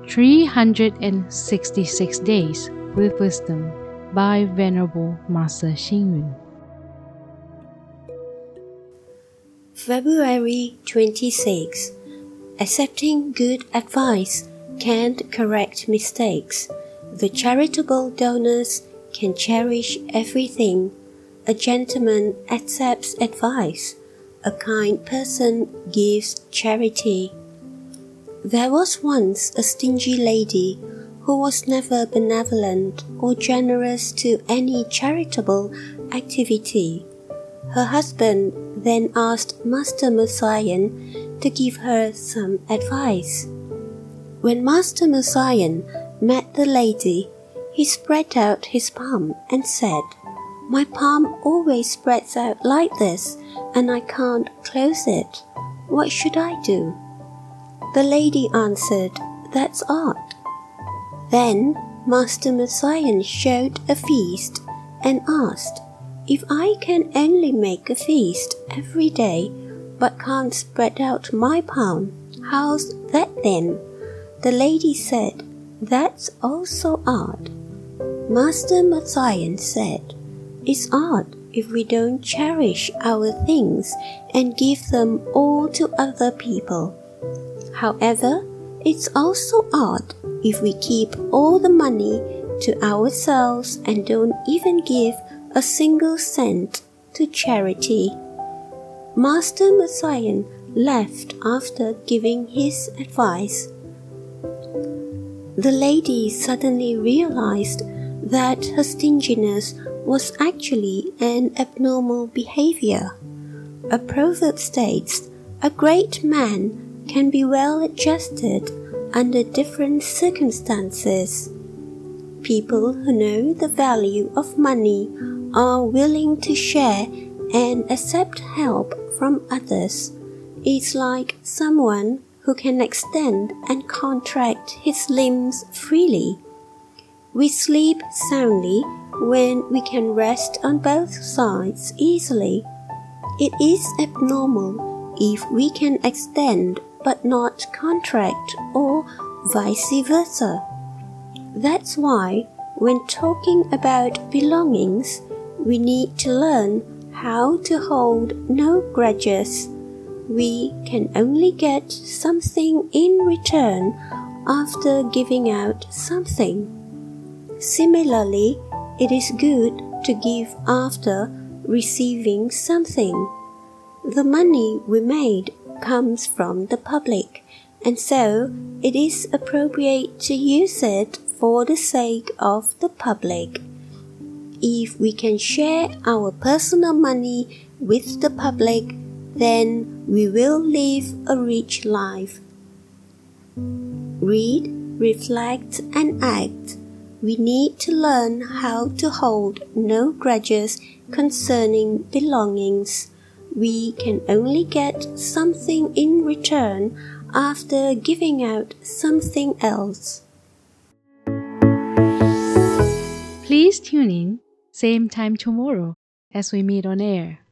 366 Days with Wisdom by Venerable Master Xing Yun. February 26. Accepting good advice can't correct mistakes. The charitable donors can cherish everything. A gentleman accepts advice. A kind person gives charity. There was once a stingy lady who was never benevolent or generous to any charitable activity. Her husband then asked Master Mosayan to give her some advice. When Master Mosayan met the lady, he spread out his palm and said, "My palm always spreads out like this, and I can't close it. What should I do?" The lady answered, "That's art." Then Master Mosayan showed a feast and asked, "If I can only make a feast every day, but can't spread out my palm, how's that then?" The lady said, "That's also art." Master Mosayan said, "It's art if we don't cherish our things and give them all to other people. However, it's also art if we keep all the money to ourselves and don't even give a single cent to charity." Master Mosayan left after giving his advice. The lady suddenly realized that her stinginess was actually an abnormal behavior. A proverb states, "A great man can be well adjusted under different circumstances." People who know the value of money are willing to share and accept help from others. It's like someone who can extend and contract his limbs freely. We sleep soundly when we can rest on both sides easily. It is abnormal if we can extend but not contract, or vice versa. That's why, when talking about belongings, we need to learn how to hold no grudges. We can only get something in return after giving out something. Similarly, it is good to give after receiving something. The money we made comes from the public, and so it is appropriate to use it for the sake of the public. If we can share our personal money with the public, then we will live a rich life. Read, reflect, and act. We need to learn how to hold no grudges concerning belongings. We can only get something in return after giving out something else. Please tune in, same time tomorrow as we meet on air.